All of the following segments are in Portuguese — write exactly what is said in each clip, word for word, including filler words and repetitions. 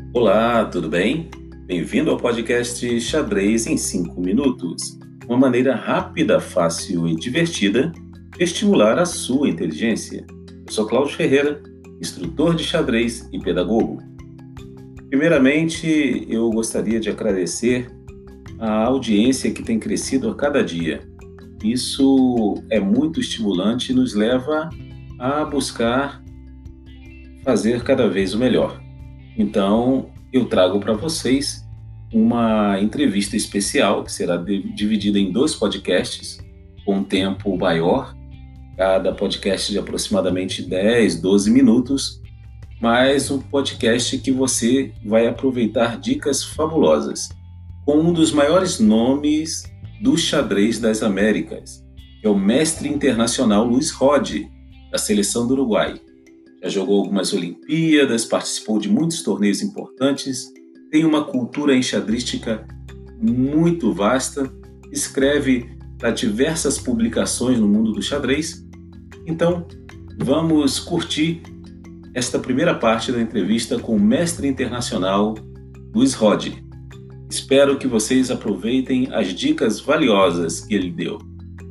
Olá, tudo bem? Bem-vindo ao podcast Xadrez em cinco minutos. Uma maneira rápida, fácil e divertida de estimular a sua inteligência. Eu sou Cláudio Ferreira, instrutor de xadrez e pedagogo. Primeiramente, eu gostaria de agradecer a audiência que tem crescido a cada dia. Isso é muito estimulante e nos leva a buscar fazer cada vez o melhor. Então, eu trago para vocês uma entrevista especial que será dividida em dois podcasts, com um tempo maior, cada podcast de aproximadamente dez, doze minutos, mas um podcast que você vai aproveitar dicas fabulosas, com um dos maiores nomes do xadrez das Américas, que é o mestre internacional Luiz Rode, da seleção do Uruguai. Já jogou algumas Olimpíadas, participou de muitos torneios importantes, tem uma cultura enxadrística muito vasta, escreve para diversas publicações no mundo do xadrez. Então, vamos curtir esta primeira parte da entrevista com o mestre internacional Luiz Rode. Espero que vocês aproveitem as dicas valiosas que ele deu.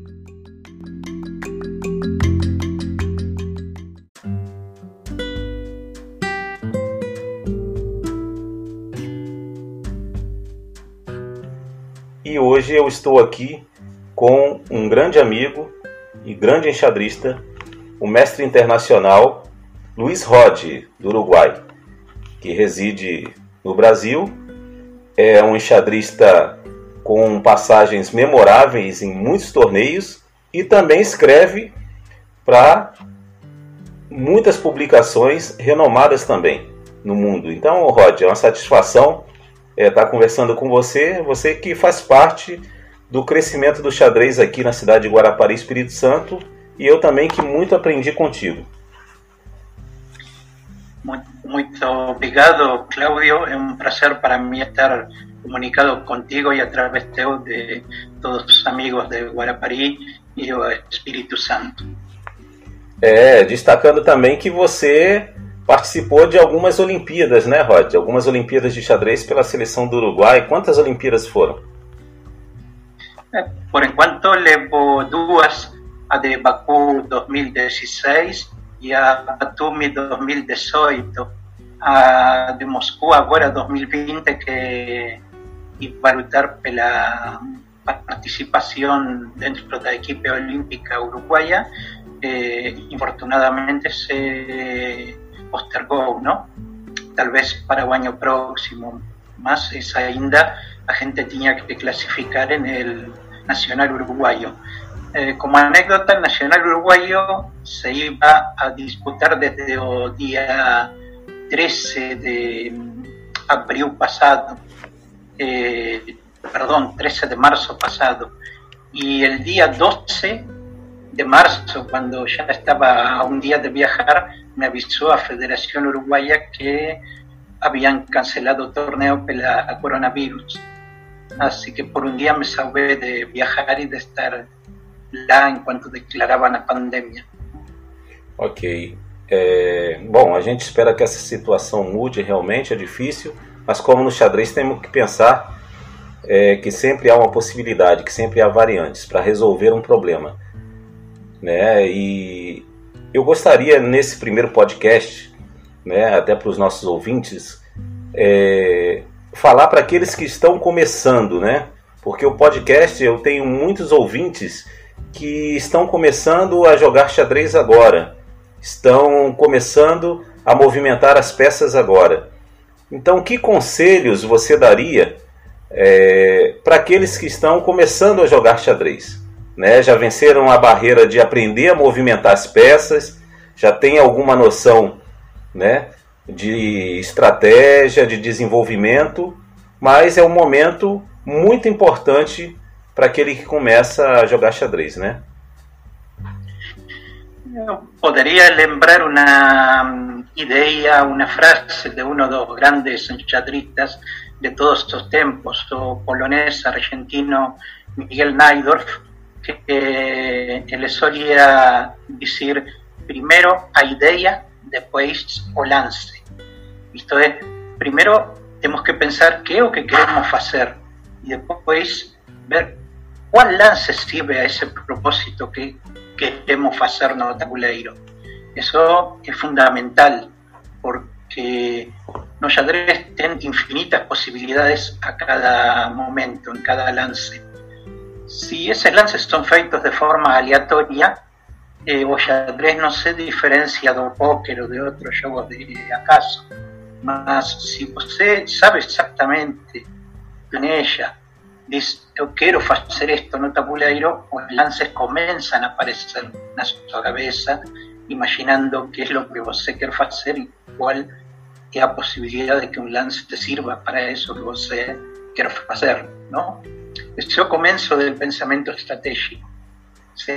E hoje eu estou aqui com um grande amigo e grande enxadrista, o mestre internacional Luiz Rode, do Uruguai, que reside no Brasil. É um enxadrista com passagens memoráveis em muitos torneios e também escreve para muitas publicações renomadas também no mundo. Então, Rode, é uma satisfação estar conversando com você, você que faz parte do crescimento do xadrez aqui na cidade de Guarapari, Espírito Santo, e eu também que muito aprendi contigo. Muito, muito obrigado, Cláudio. É um prazer para mim estar comunicado contigo e através teu de todos os amigos de Guarapari e do Espírito Santo. É, destacando também que você participou de algumas Olimpíadas, né, Rode? Algumas Olimpíadas de xadrez pela seleção do Uruguai. Quantas Olimpíadas foram? Por enquanto, levo duas, a de Bakú dois mil e dezesseis e a Batumi dois mil e dezoito. A de Moscou agora dois mil e vinte, que vai lutar pela participação dentro da equipe olímpica uruguaia, eh, infortunadamente se postergou, ¿no? Talvez para o ano próximo, mas essa ainda a gente tinha que classificar en el Nacional Uruguayo. Eh, como anécdota, el Nacional Uruguayo se iba a disputar desde o día trece de abril pasado, eh, perdón, trece de marzo pasado, y el día doce de marzo, cuando ya estaba a un día de viajar, me avisó a Federación Uruguaya que habían cancelado el torneo por la coronavirus. Así que por un día me salvé de viajar y de estar lá enquanto declaravam a pandemia. Ok. É, bom, a gente espera que essa situação mude, realmente é difícil, mas como no xadrez temos que pensar é, que sempre há uma possibilidade, que sempre há variantes para resolver um problema, né? E eu gostaria, nesse primeiro podcast, né, até para os nossos ouvintes, é, falar para aqueles que estão começando, né? Porque o podcast, eu tenho muitos ouvintes que estão começando a jogar xadrez agora, estão começando a movimentar as peças agora. Então, que conselhos você daria é, para aqueles que estão começando a jogar xadrez? Né? Já venceram a barreira de aprender a movimentar as peças, já tem alguma noção, né, de estratégia, de desenvolvimento, mas é um momento muito importante para aquele que começa a jogar xadrez, né? Eu poderia lembrar uma ideia, uma frase de um dos grandes xadristas de todos os tempos, o polonês argentino Miguel Najdorf, que ele solía dizer primeiro a ideia, depois o lance. Isto é, primero tenemos que pensar qué es lo que queremos hacer y después ver cuál lance sirve a ese propósito que queremos hacer no tabuleiro. Eso es fundamental porque no xadrez tiene infinitas posibilidades a cada momento, en cada lance. Si esos lances son feitos de forma aleatoria, eh, o xadrez no se diferencia do póquer o de otros juegos de acaso. Mas si você sabe exactamente, planeja, dice, yo quiero hacer esto no tabuleiro, los lances comienzan a aparecer en su cabeza, imaginando qué es lo que você quiere hacer y cuál es la posibilidad de que un lance te sirva para eso que você quiere hacer, ¿no? Ese es el comienzo del pensamiento estratégico, ¿sí?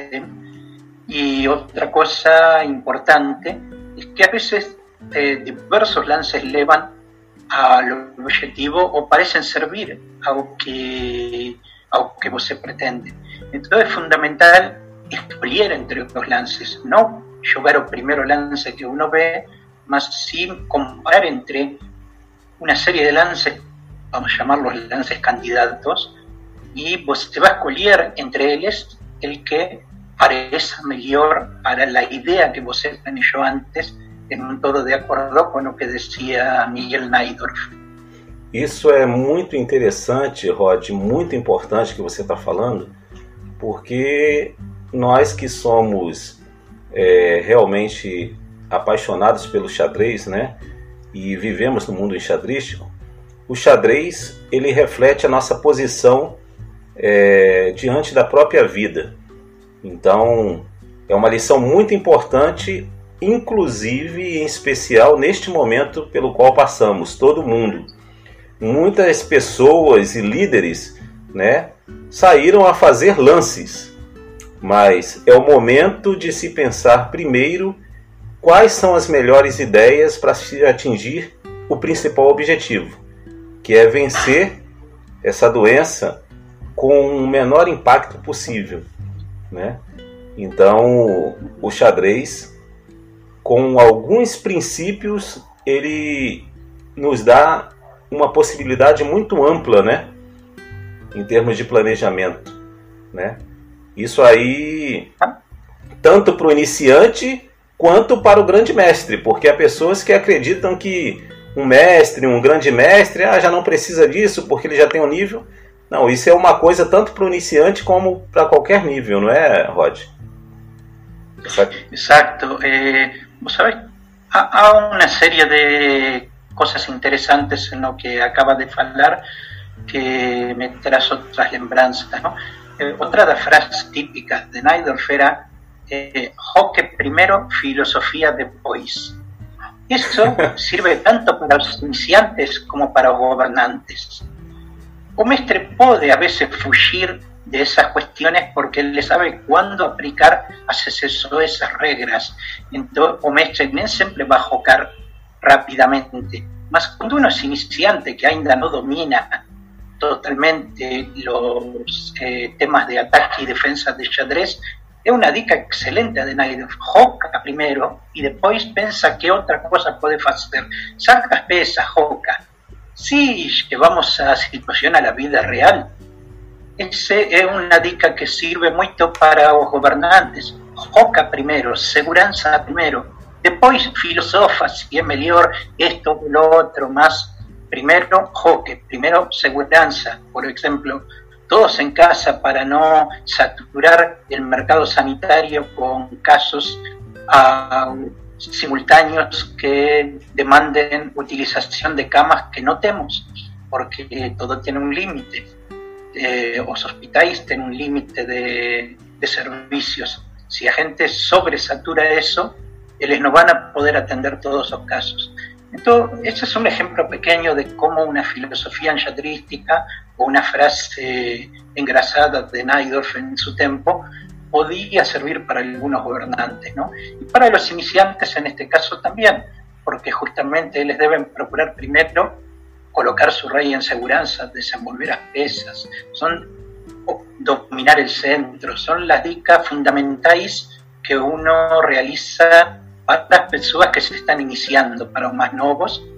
Y otra cosa importante es que a veces eh, diversos lances llevan al objetivo o parecen servir a lo que, a lo que você pretende. Entonces es fundamental escolher entre los lances, no jugar el primero lance que uno ve, más sin comparar entre una serie de lances, vamos a llamarlos lances candidatos, y você va a escolher entre ellos el que parece mejor para la idea que você planejó antes, en todo de acordo com o que dizia Miguel Najdorf. Isso é muito interessante, Rod, muito importante que você está falando, porque nós que somos é, realmente apaixonados pelo xadrez, né, e vivemos no mundo enxadrístico, o xadrez ele reflete a nossa posição é, diante da própria vida. Então, é uma lição muito importante, inclusive e em especial neste momento pelo qual passamos, todo mundo. Muitas pessoas e líderes, né, saíram a fazer lances, mas é o momento de se pensar primeiro quais são as melhores ideias para se atingir o principal objetivo, que é vencer essa doença com o menor impacto possível, né? Então, o xadrez, com alguns princípios, ele nos dá uma possibilidade muito ampla, né, em termos de planejamento, né? Isso aí, tanto para o iniciante quanto para o grande mestre, porque há pessoas que acreditam que um mestre, um grande mestre, ah, já não precisa disso porque ele já tem um nível. Não, isso é uma coisa tanto para o iniciante como para qualquer nível, não é, Rod? Exacto. Eh, vos sabés, hay una serie de cosas interesantes en lo que acaba de hablar que me tras otras lembranzas, ¿no? Eh, otra de las frases típicas de Najdorf era eh, Hoque primero, filosofía después. Eso sirve tanto para los iniciantes como para los gobernantes. O mestre puede a veces fugir de esas cuestiones porque él le sabe cuándo aplicar a esas regras. Entonces, o mestre nem siempre va a jocar rápidamente. Mas cuando uno es iniciante, que ainda no domina totalmente los eh, temas de ataque y defensa de xadrez, es una dica excelente de Najdorf. Joca primero y después piensa qué otra cosa puede hacer. Saca as pesas, joca. Si llevamos a situación a la vida real, ese es una dica que sirve mucho para los gobernantes. Joca primero, seguranza primero, después filosofa si es mejor esto o lo otro, más primero joque, primero seguranza. Por ejemplo, todos en casa para no saturar el mercado sanitario con casos uh, simultáneos que demanden utilización de camas que no tenemos, porque todo tiene un límite. Eh, los hospitales tienen un límite de, de servicios. Si la gente sobresatura eso, ellos no van a poder atender todos los casos. Entonces, este es un ejemplo pequeño de cómo una filosofía enxadrística o una frase engrasada de Najdorf en su tiempo podía servir para algunos gobernantes, ¿no? Y para los iniciantes en este caso también, porque justamente les deben procurar primero colocar su rey en seguranza, desenvolver las pesas, son dominar el centro, son las dicas fundamentales que uno realiza para las personas que se están iniciando, para los más nuevos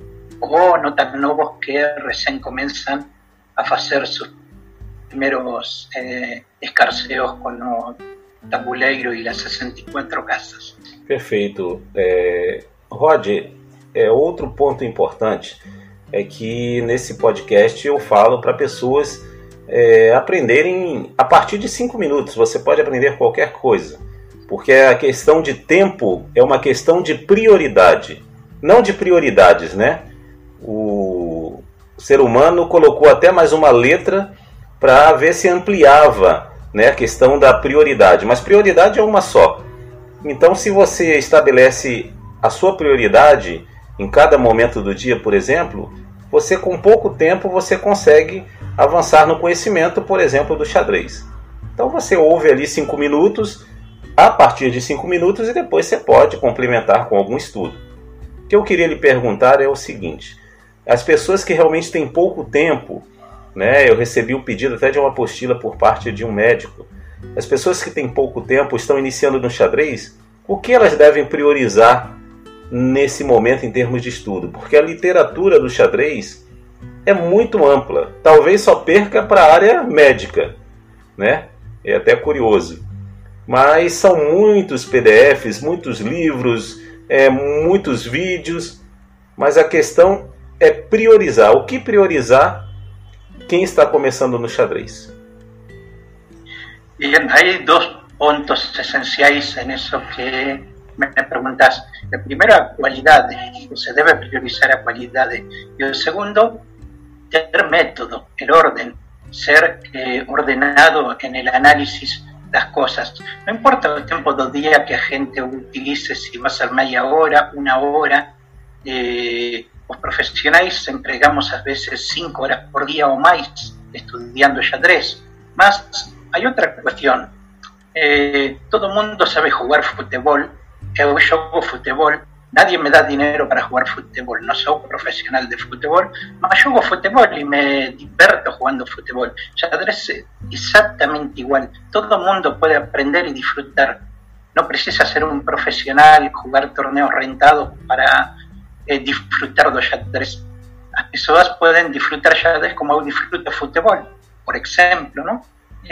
o no tan novos que recién comienzan a hacer sus primeros eh, escarceos con o tabuleiro e as sessenta e quatro casas. Perfeito. É, Rod, é, outro ponto importante é que nesse podcast eu falo para pessoas é, aprenderem a partir de cinco minutos. Você pode aprender qualquer coisa, porque a questão de tempo é uma questão de prioridade, não de prioridades, né? O ser humano colocou até mais uma letra para ver se ampliava, né, a questão da prioridade, mas prioridade é uma só. Então, se você estabelece a sua prioridade em cada momento do dia, por exemplo, você com pouco tempo você consegue avançar no conhecimento, por exemplo, do xadrez. Então você ouve ali cinco minutos, a partir de cinco minutos, e depois você pode complementar com algum estudo. O que eu queria lhe perguntar é o seguinte: as pessoas que realmente têm pouco tempo, né, eu recebi um pedido até de uma apostila por parte de um médico, as pessoas que têm pouco tempo, estão iniciando no xadrez, o que elas devem priorizar nesse momento em termos de estudo? Porque a literatura do xadrez é muito ampla, talvez só perca para a área médica, né? É até curioso. Mas são muitos P D Fs, muitos livros, é, muitos vídeos, mas a questão é priorizar. O que priorizar quem está começando no xadrez? Bien, hay dos puntos esenciales en eso que me preguntas. El primero, a cualidad. Se debe priorizar a cualidad. Y el segundo, tener método, el orden, ser eh, ordenado en el análisis de las cosas. No importa el tiempo del día que la gente utilice, si va a ser media hora, una hora. Eh, los profesionales empleamos a veces cinco horas por día o más estudiando xadrez. Más, hay otra cuestión. Eh, todo el mundo sabe jugar fútbol. Eu juego fútbol. Nadie me da dinero para jugar fútbol. No soy profesional de fútbol, pero juego fútbol y me divierto jugando fútbol. Xadrez es exactamente igual. Todo el mundo puede aprender y disfrutar. No precisa ser un profesional, jugar torneos rentados para eh, disfrutar de xadrez. Las personas pueden disfrutar xadrez como yo disfruto fútbol, por ejemplo, ¿no?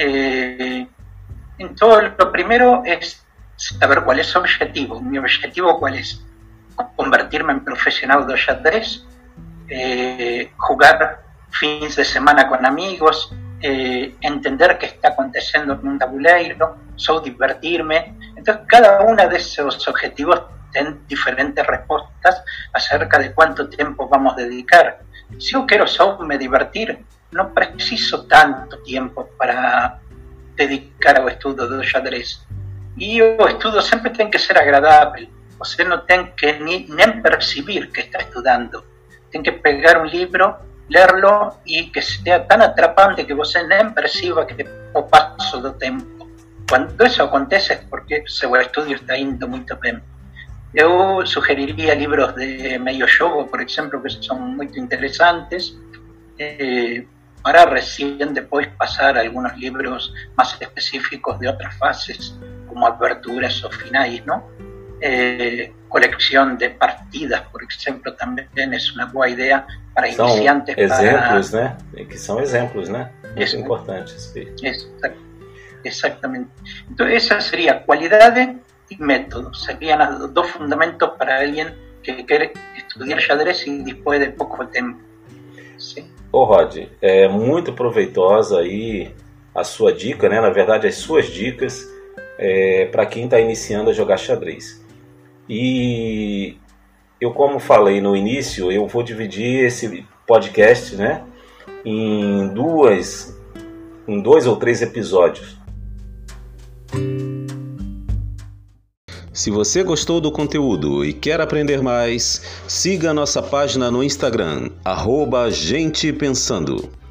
Eh, entonces, lo primero es saber cuál es su objetivo. Mi objetivo, ¿cuál es? Convertirme en profesional de xadrez, eh, jugar fines de semana con amigos, eh, entender qué está aconteciendo en un tabuleiro, solo divertirme. Entonces, cada uno de esos objetivos tiene diferentes respuestas acerca de cuánto tiempo vamos a dedicar. Si yo quiero solo me divertir, no preciso tanto tiempo para dedicar ao estudo do xadrez. E o estudo sempre tem que ser agradável. Você não tem que ni, nem perceber que está estudando. Tem que pegar um livro, lerlo e que seja tão atrapante que você nem perceba que o passo do tempo. Quando isso acontece é porque seu estudo está indo muito bem. Eu sugeriria livros de meio jogo, por exemplo, que são muito interessantes, eh, para recién después pasar a algunos libros más específicos de otras fases, como aperturas o finales, ¿no? Eh, colección de partidas, por ejemplo, también es una buena idea para são iniciantes. Exemplos, para... né? Que são exemplos, né? Muito Isso, importantes. Exact, exactamente. Entonces, esa sería cualidad y método. Serían los dos fundamentos para alguien que quiere estudiar xadrez y después de poco tiempo. Sí. Ô Rod, é muito proveitosa aí a sua dica, né? Na verdade, as suas dicas é, para quem está iniciando a jogar xadrez. E eu, como falei no início, eu vou dividir esse podcast, né, em duas, em dois ou três episódios. Se você gostou do conteúdo e quer aprender mais, siga a nossa página no Instagram, arroba Gente Pensando.